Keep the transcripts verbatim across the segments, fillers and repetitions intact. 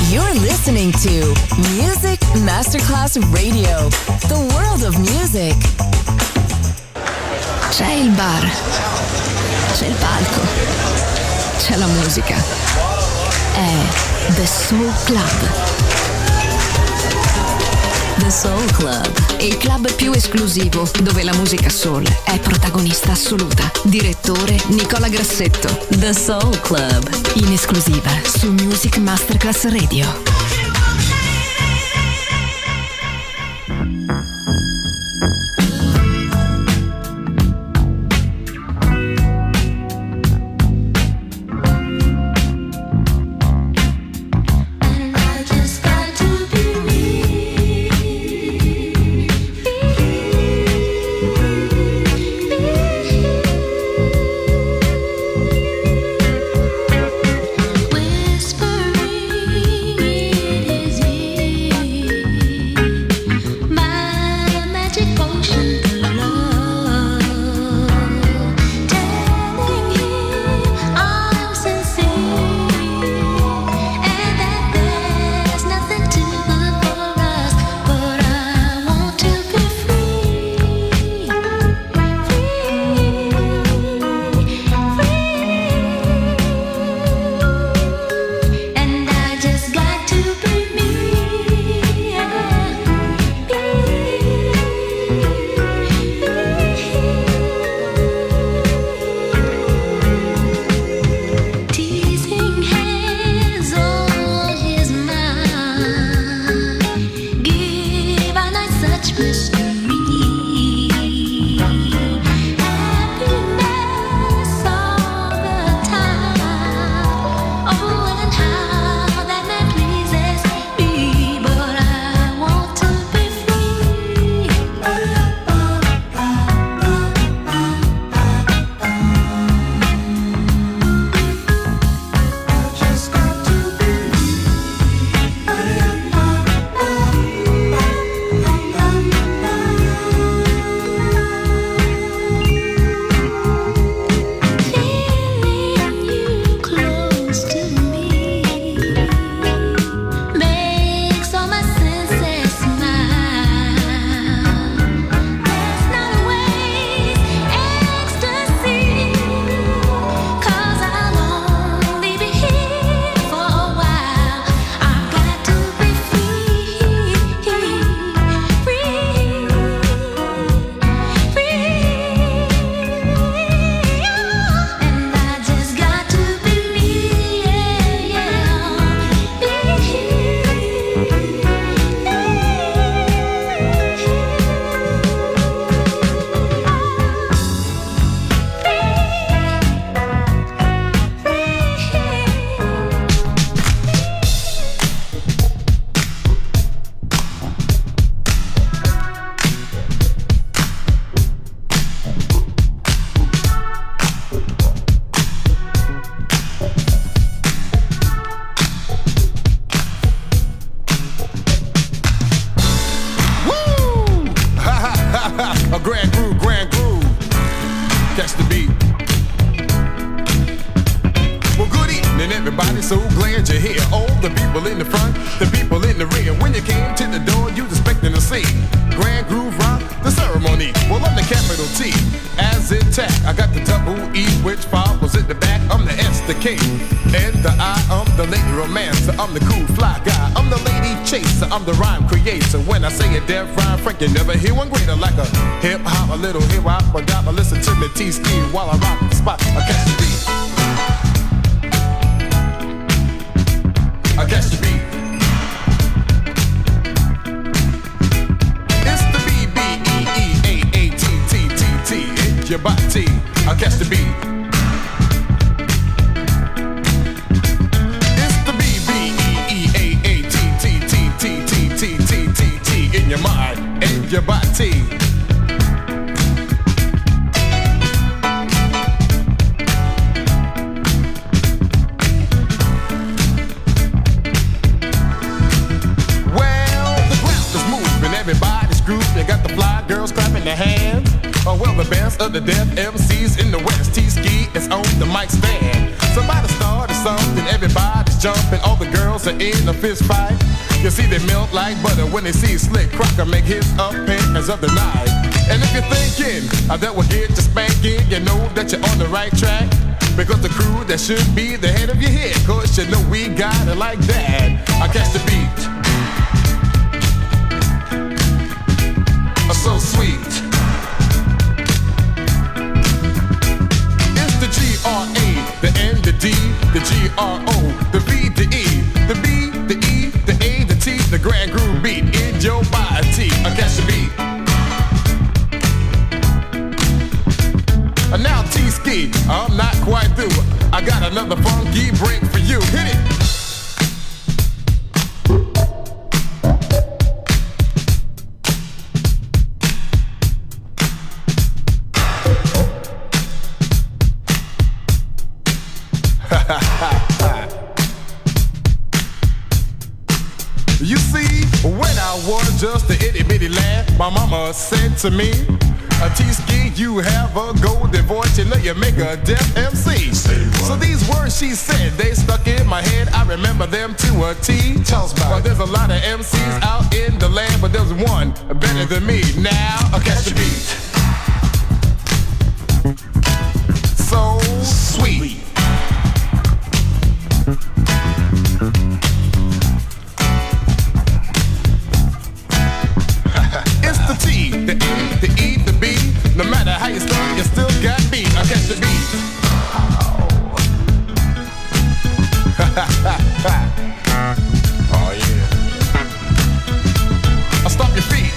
You're listening to Music Masterclass Radio, the world of music. C'è il bar, c'è il palco, c'è la musica. È The Soul Club. The Soul Club, il club più esclusivo dove la musica soul è protagonista assoluta. Direttore Nicola Grassetto. The Soul Club, in esclusiva su Music Masterclass Radio. I'm the rhyme creator. When I say a deaf rhyme, Frank, you never hear one greater. Like a hip hop, a little hip hop, but gotta listen to me T-ski while I rock the spot. I catch the beat. I catch the beat. It's the B B E E A A T T T T. It's your body. I catch the beat. Your mind and your body. Well, the ground is moving, everybody's grooving. You got the fly girls clapping their hands. Oh, well, the best of the deaf M Cs in the West. T-ski is on the mic stand. Somebody started something, everybody's jumping. All the girls closer in a fist fight. You see they melt like butter when they see Slick Crocker make his appearance of the night. And if you're thinking uh, that will get you spanking, you know that you're on the right track. Because the crew that should be the head of your head, cause you know we got it like that. I catch the beat. So sweet. It's the G R A, the N, the D, the G R O, the V, the E, the B, the E, the A, the T, the grand groove beat in your body. I catch the beat. And now T-Ski, I'm not quite through. I got another funky break for you. Hit it. You see, when I was just a itty bitty lad, my mama said to me, a T-Ski, you have a golden voice, you know you make a deaf M C. So these words she said, they stuck in my head, I remember them to a T. Tell us about well, there's a lot of M Cs out in the land, but there's one better than me. Now, I'll catch the beat. So sweet. It's the T, the E, the E, the B. No matter how you start, you still got beat. I catch the beat. Oh yeah. I'll stomp your feet.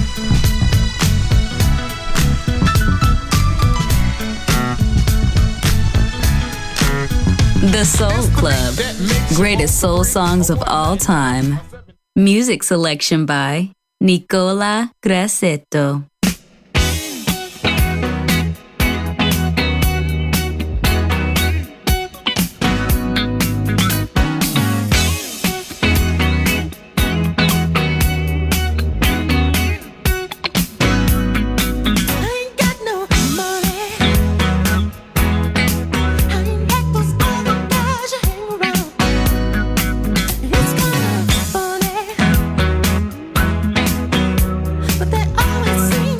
The Soul Club. Greatest soul songs of all time. Music selection by Nicola Grassetto. But they always seem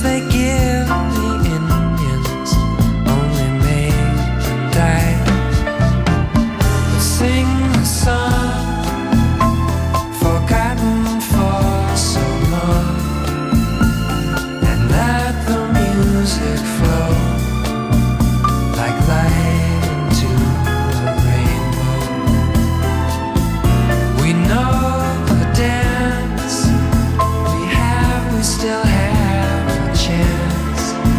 they give the Indians only made them die. But sing the song forgotten for so long, and let the music flow like light into a rainbow. We know the dance we have, we still have a chance.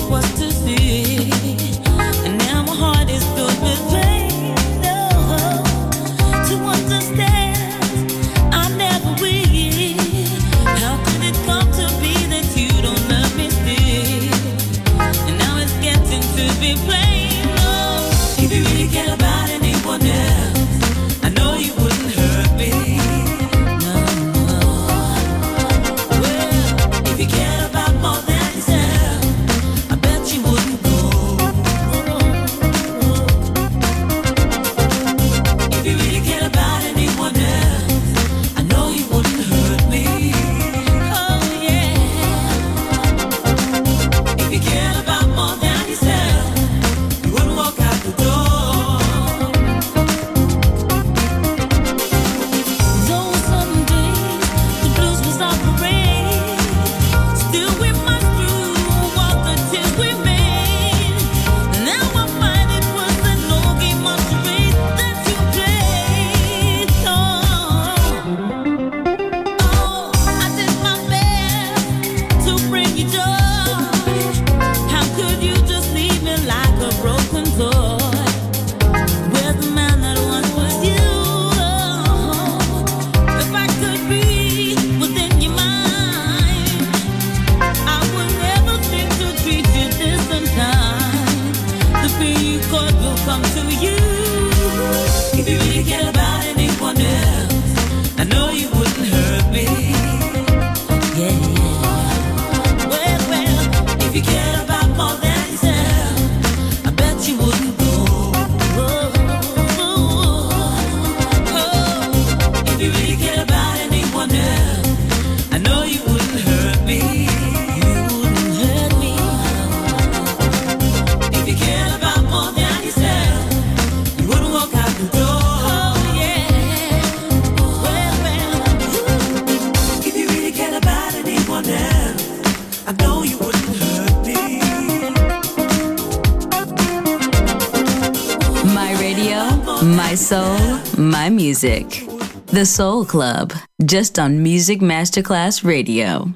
My soul, my music. The Soul Club, just on Music Masterclass Radio.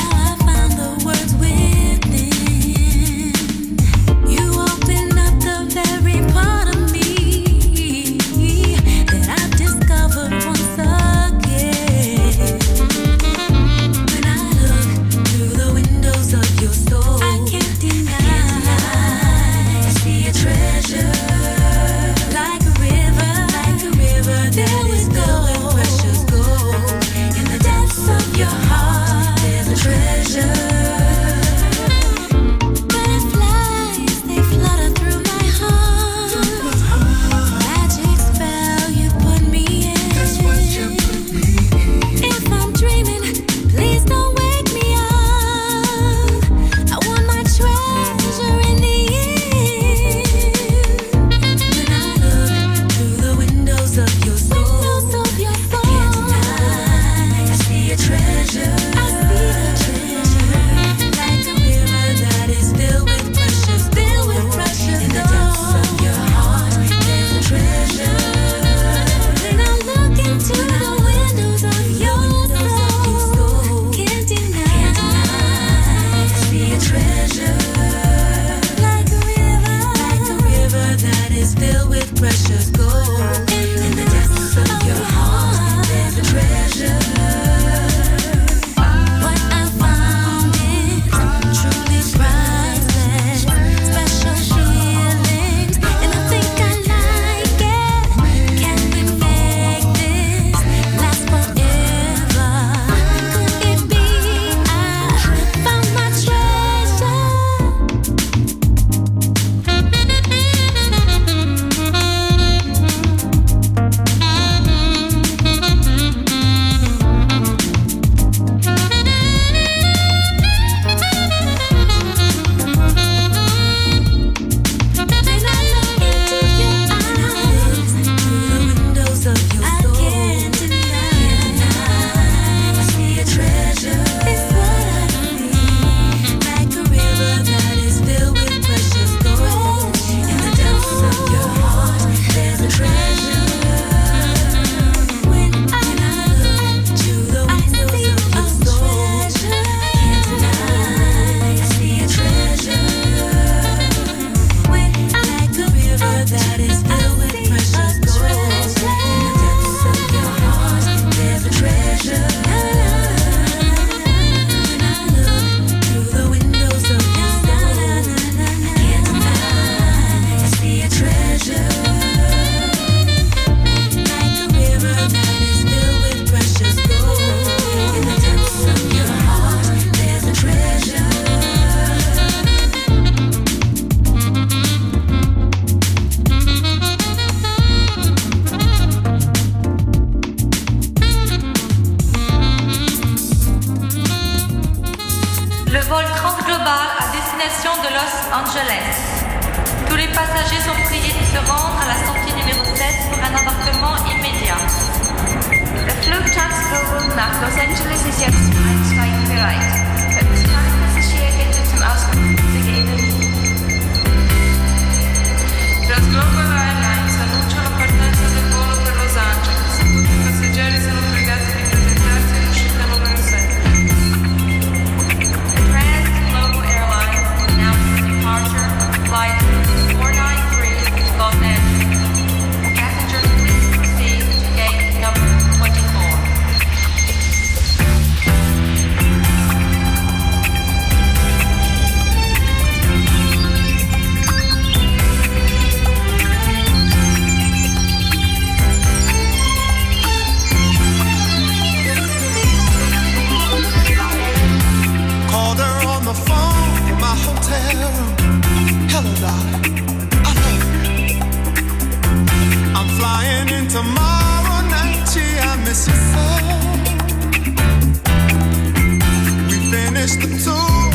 The Angeles. Tous les passagers sont priés de se rendre à la sortie numéro sept pour un embarquement immédiat. Der Flugtagsflug nach Los Angeles ist jetzt einsteigebereit. Vermisste Passagiere bitte zum Ausgang begeben. Transglobo Airlines annuncia la partenza del volo per Los Angeles. I passeggeri sono pregati di presentarsi all'uscita numero sette. Transglobo Airlines announced the departure of flight four ninety-three Los Angeles. Passengers, please proceed to gate number twenty-four. Called her on the phone from my hotel room. Hello, darling, I love you. I'm flying in tomorrow night. Gee, I miss you so. We finished the tour.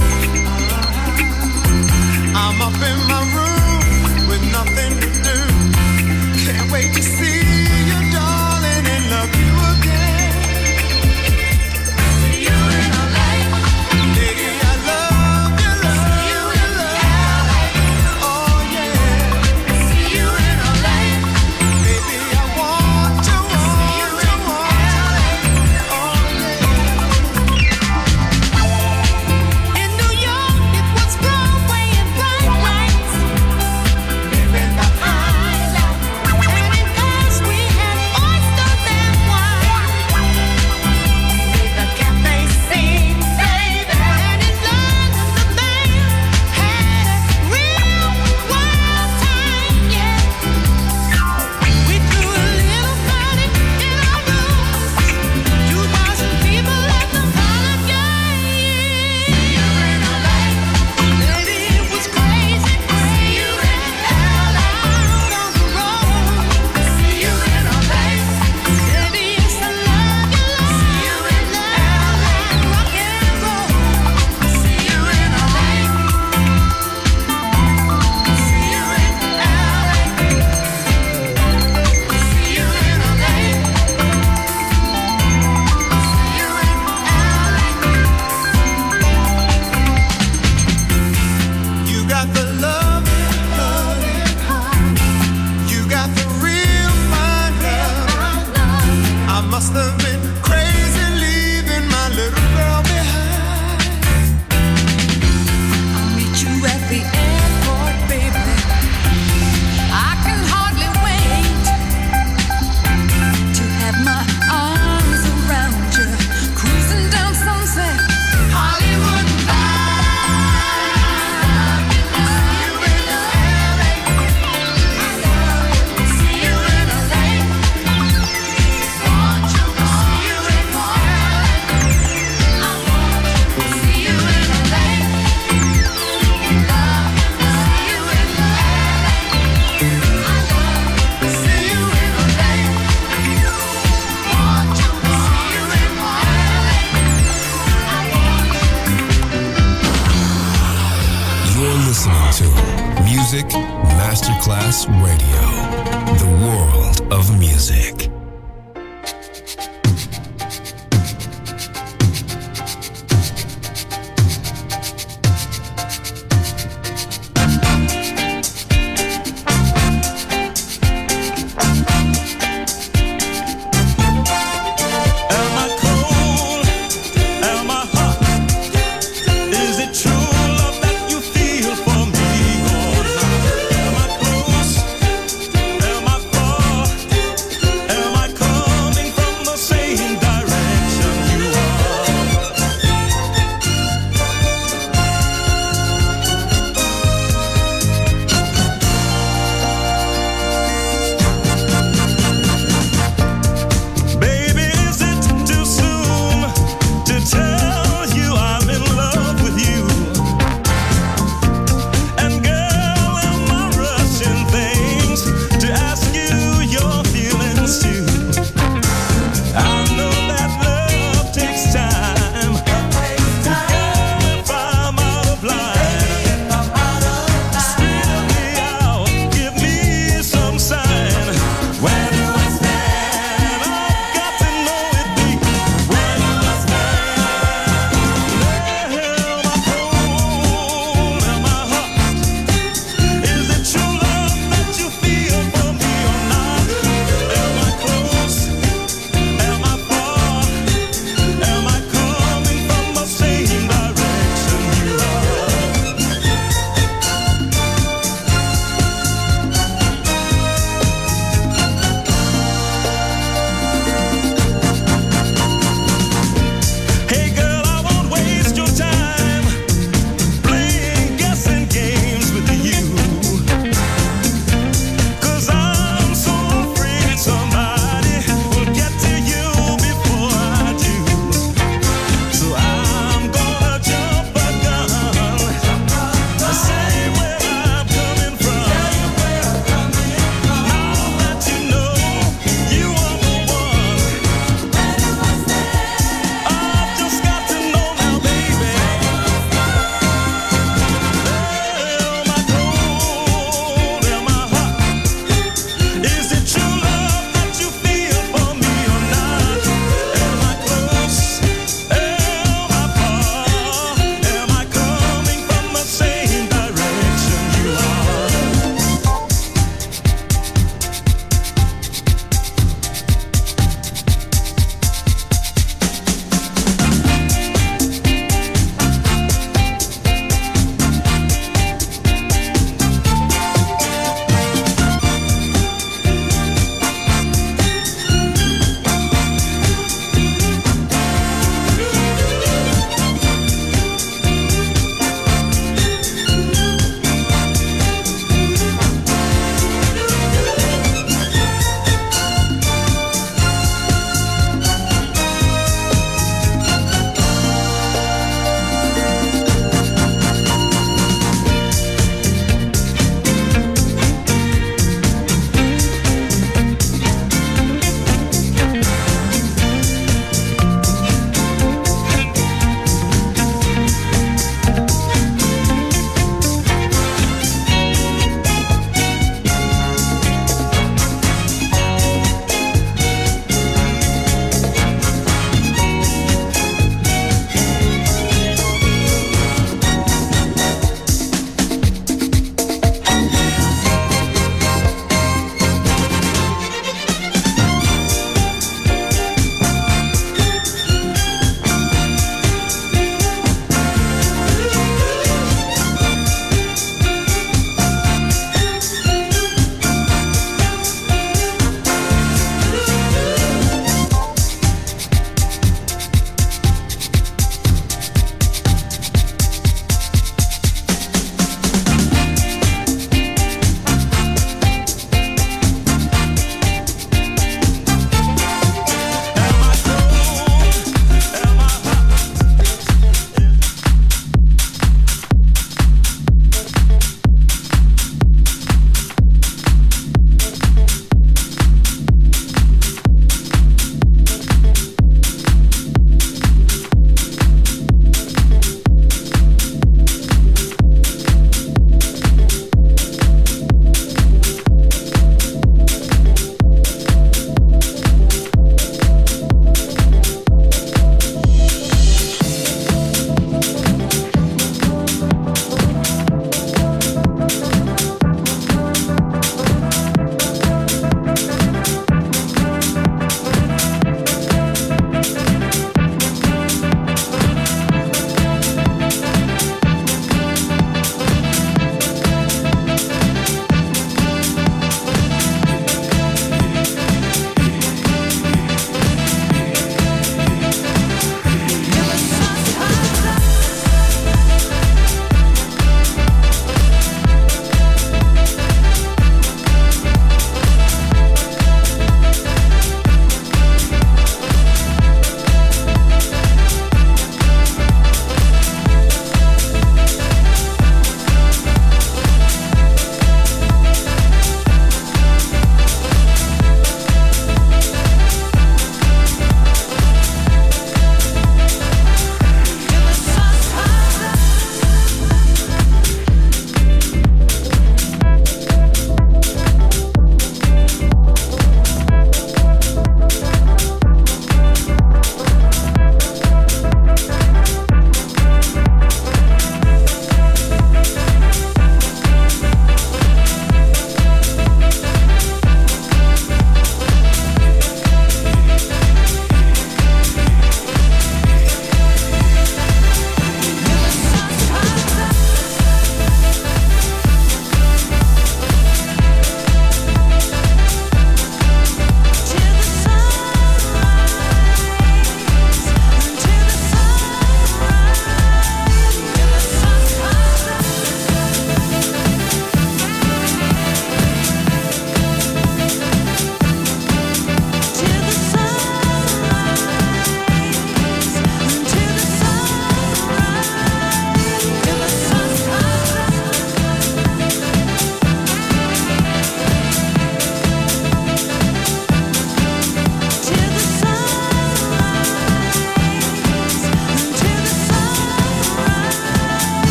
I'm up in my room with nothing to do. Can't wait to see you, darling, and love you again. See you in L A. Baby, I love you, love you, love you. Oh yeah. See you in L A. Baby, I want you, want you, want you. Oh yeah. In New York, it was Broadway and bright lights. Living the high life. And in Paris, we had oysters and wine. Made the cafe sing, baby. And in London, the band had a real wild time, yeah. We threw a little party in our room. Two thousand people at the Holiday Inn. Baby, it was crazy, crazy. Out on the road. See you in L A. Baby, it's a love you, love you, love rock and roll. See you in L A. See you in L A. See you in L A. See you in L A. You got the love, you got the real fine love. I must have been crazy leaving my little girl behind. I'll meet you at the airport, baby. I can hardly wait to have my arms around you, cruising down Sunset, Hollywood See you in L A. Want you, see you in L A. I want you, see you in L A. Love, see you in L A. I love, see you in L A. Want you, see you in L A. You're listening to Music Masterclass Radio, the world of music. Am I cold? Am I hot? Is it true love that you feel for me or not? Am I close? Am I far?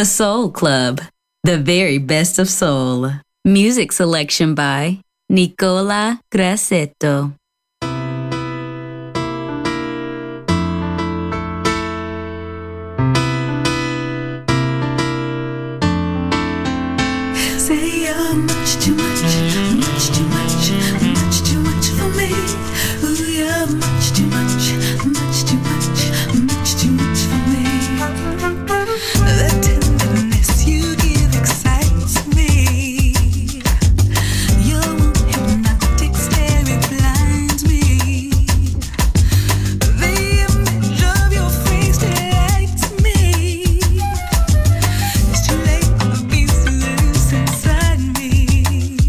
The Soul Club, the very best of soul. Music selection by Nicola Grassetto. Say you're much too much, much too much, much too much for me. Ooh, you're much too much, much too much, much too much for me. The tenderness you give excites me. Your warm hypnotic stare, it blinds me. The image of your face delights me. It's too late for peace to lose inside me.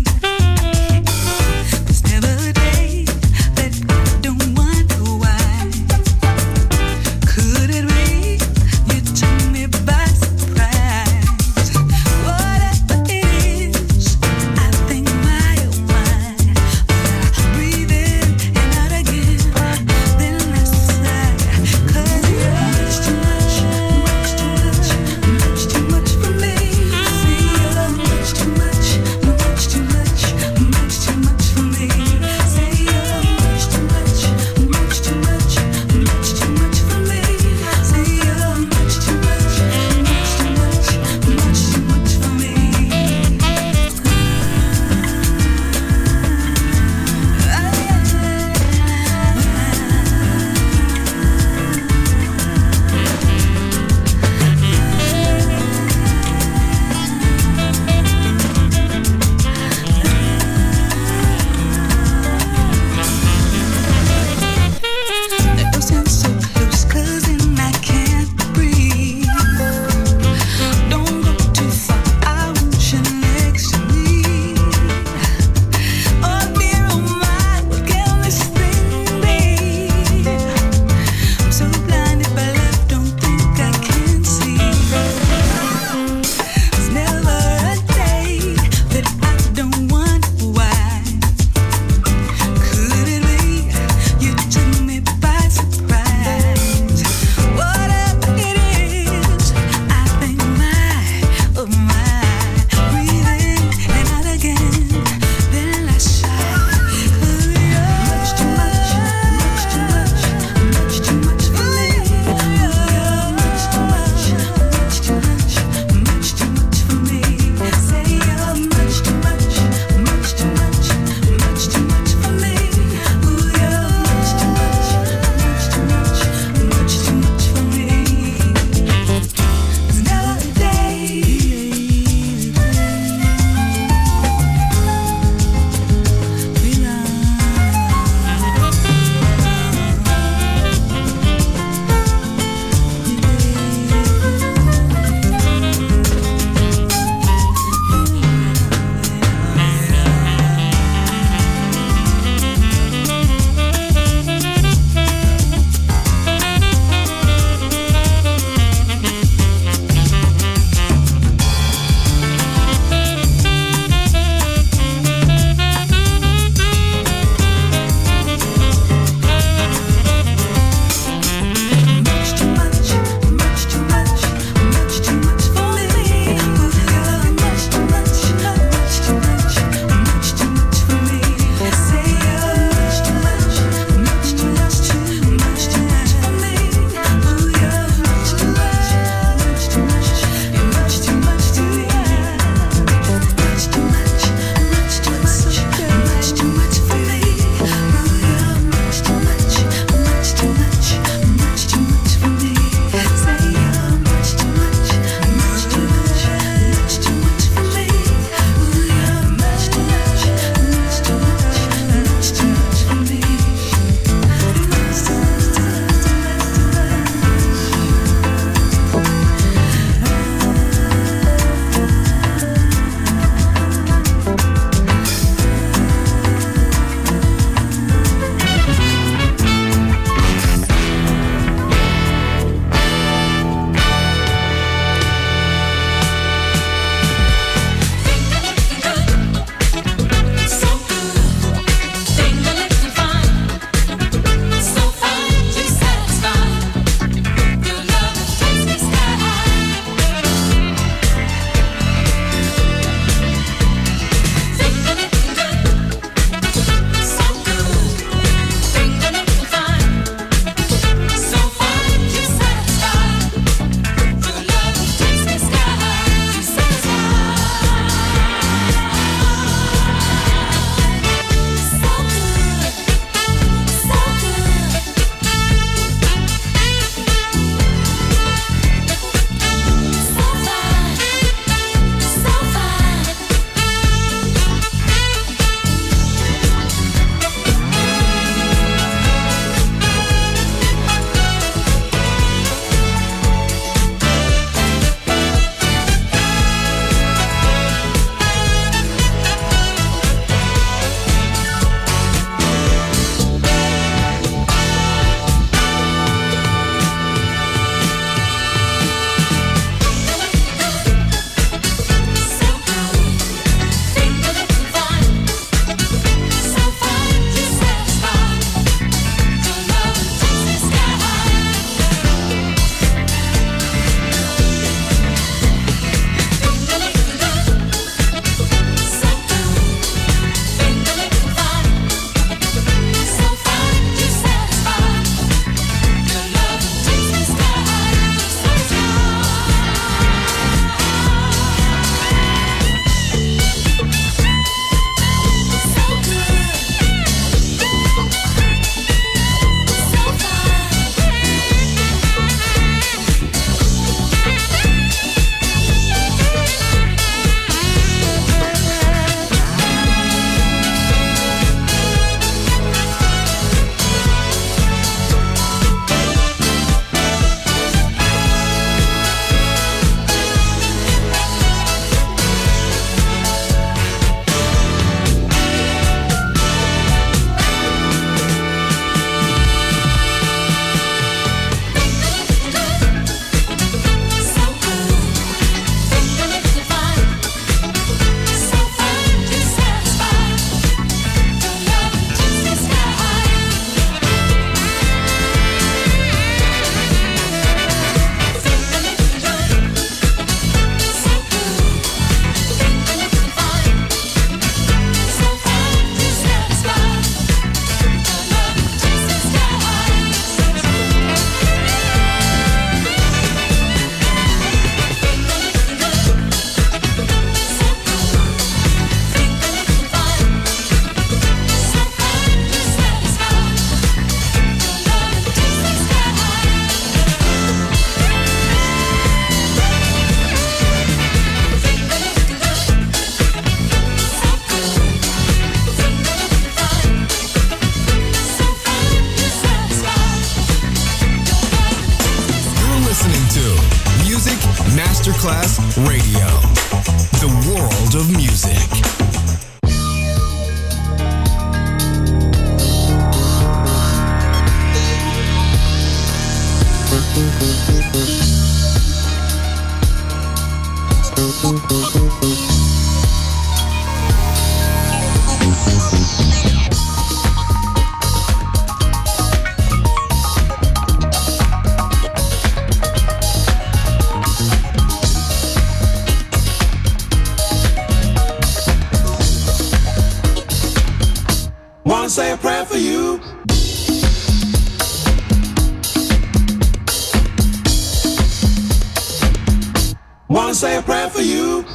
Masterclass Radio, the world of music. Wanna say a prayer for you. Wanna say a prayer for you.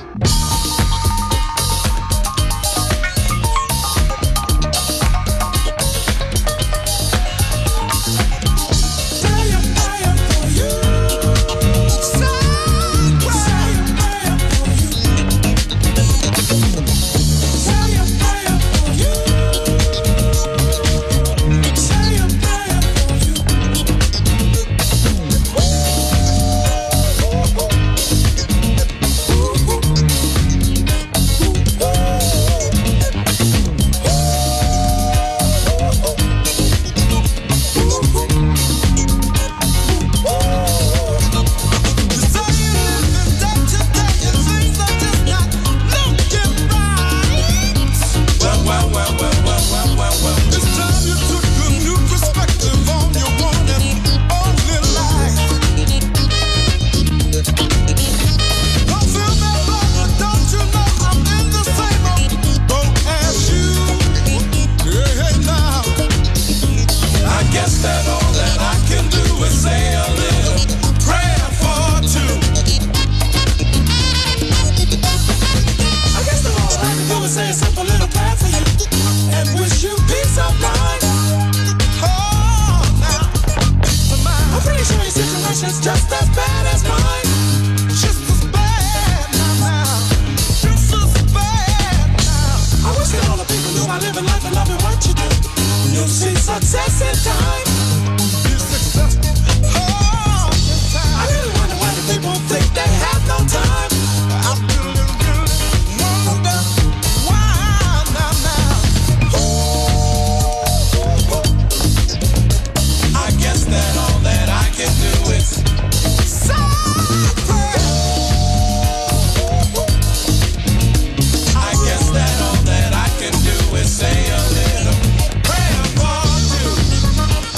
Say a little prayer for two.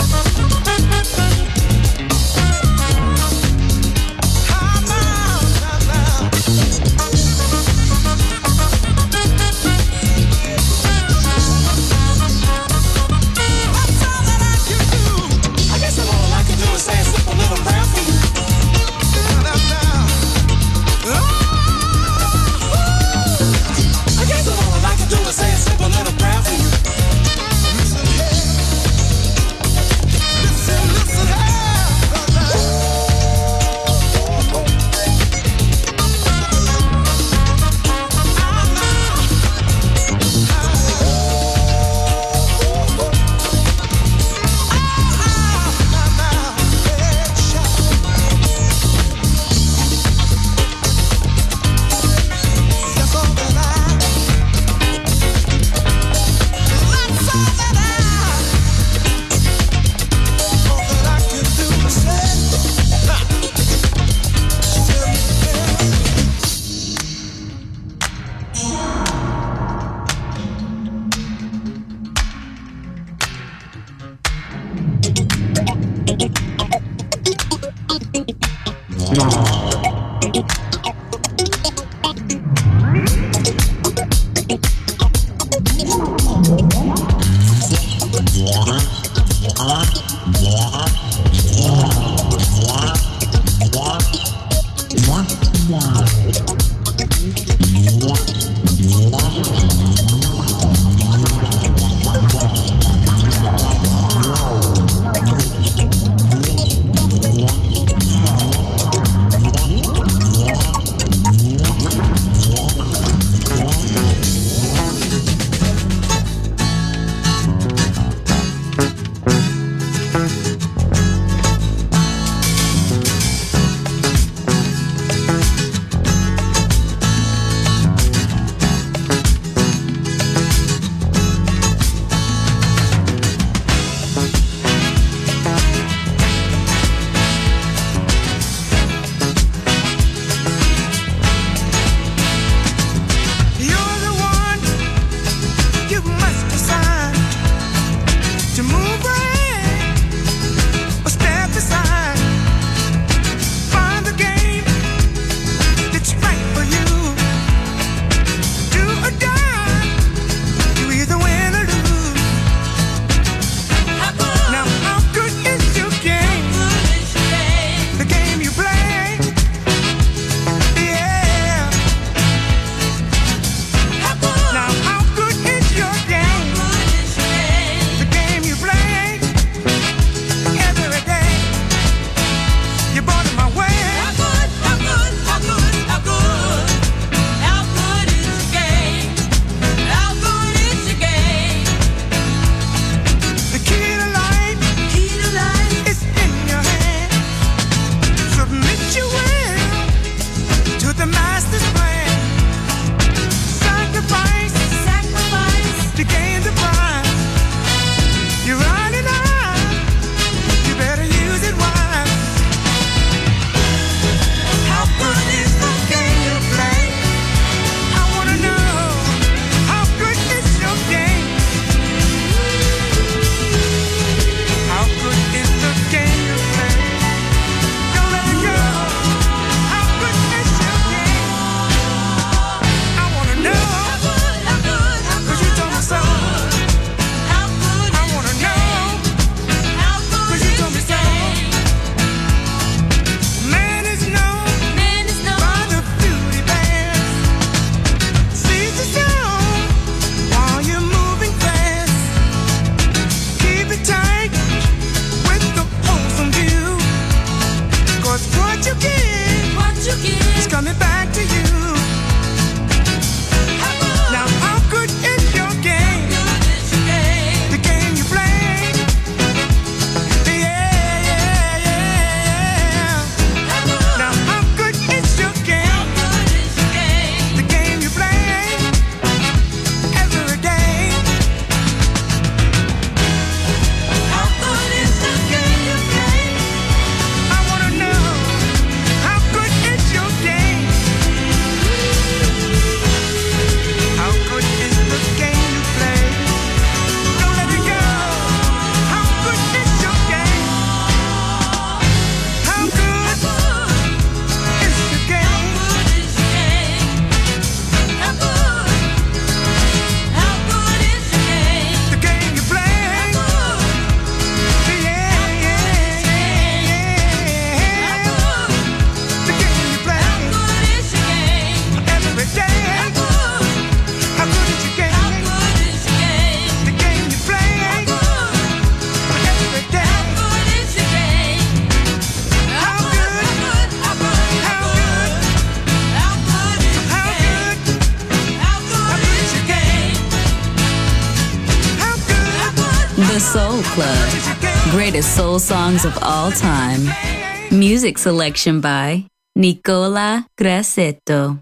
The Soul Club. Greatest soul songs of all time. Music selection by Nicola Grassetto.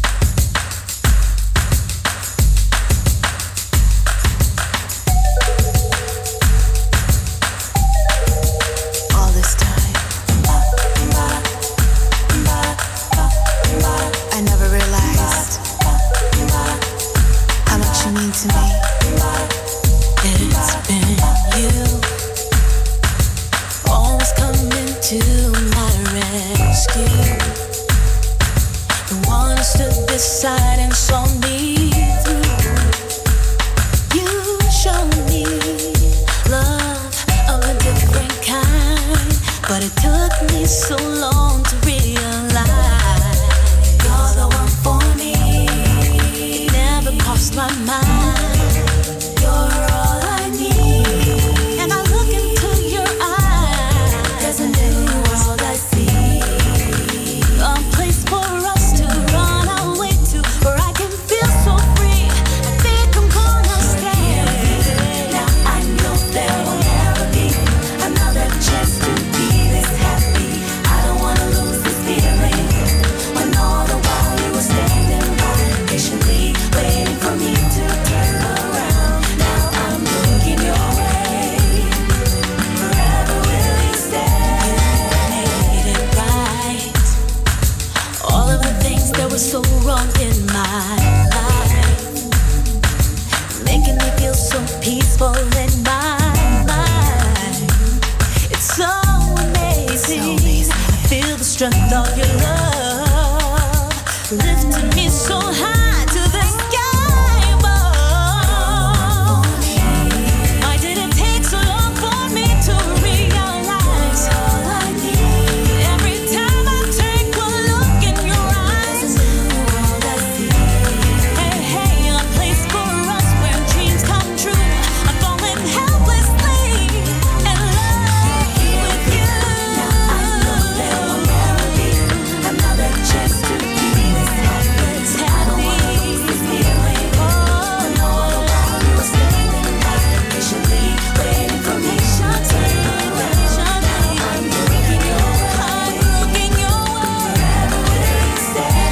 All this time, I never realized how much you mean to me. It's been you, always coming to my rescue. The one who stood beside and saw me through. You showed me love of a different kind, but it took me so long to realize you're the one for me. It never crossed my mind. You're all I need. And I look into your eyes. There's a new world I see. A place for us to run away to, where I can feel so free. I think I'm gonna stay. Now I know there will never be another chance to be this happy. I don't wanna lose this feeling. When all the while you were standing by, patiently waiting for me to turn around. Now I'm looking your way. Forever will you stay? You made it right. All of the things that were so wrong in my life, making me feel so peaceful in my mind. It's so amazing. I feel the strength of your love, lifting me so high to the sky above. Why did it take so long for me to realize all I need? Every time I take a look in your eyes, all I see. Hey, hey, a place for us where dreams come true. I'm falling helplessly in love with you. Now I know there will never be another chance to be this happy. I don't wanna lose this feeling. When all the while you were standing by, patiently waiting for me to turn around. Now I'm looking your way. Looking your way. Forever will you stay?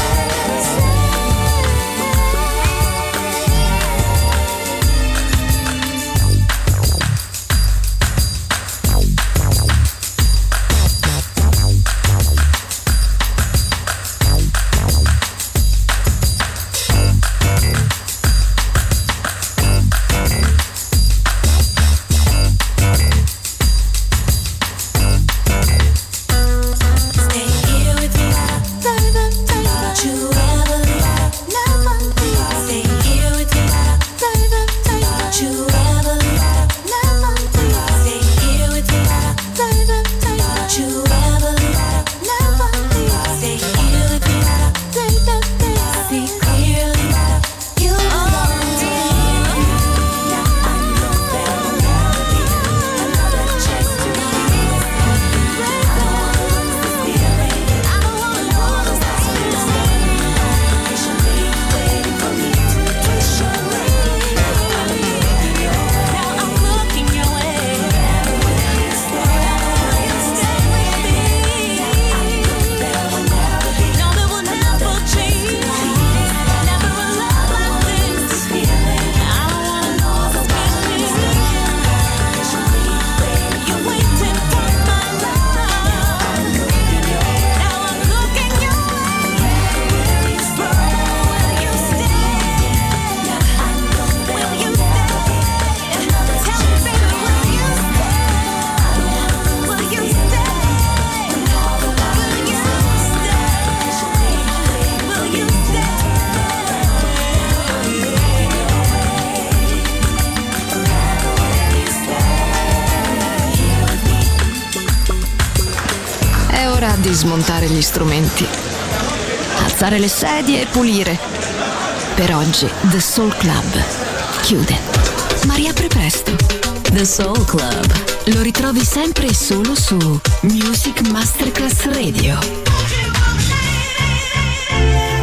Stay here with me. Don't you ever leave. Never leave. Stay here with me. Don't you ever leave. Never leave. Stay here with me. Don't you ever leave. Never leave. Stay here with me. See clearly. You belong to me. Now I know there will never be another chance to be this happy. I don't wanna lose this feeling. I don't wanna lose this feeling. Patiently waiting for me to push away. Now I'm looking your way. Now I'm looking your way. Forever will you stay? Will you stay with me? Now I know there will never be. No, there will never change. Never a love like this feeling. I don't wanna lose this feeling. Patiently waiting. You're waiting for my love. I'm looking your way. Now I'm looking your way. Will you stay? Will you stay? Now I know there will never be another chance. Tell me, baby, will you stay? Will you stay? When all the while will you stay? Will you stay? I'm looking your way. Forever will you stay? Here with me. È ora di smontare gli strumenti, alzare le sedie e pulire. Per oggi The Soul Club chiude, ma riapre presto. The Soul Club lo ritrovi sempre e solo su Music Masterclass Radio.